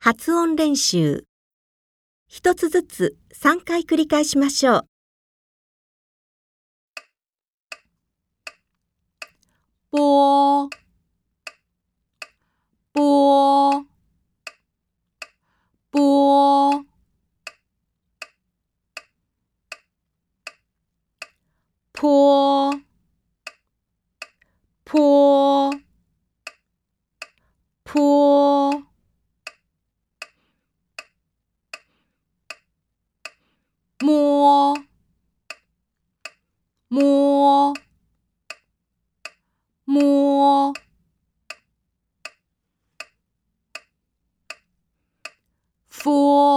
発音練習。一つずつ3回繰り返しましょう。 波波波坡坡坡摸摸摸佛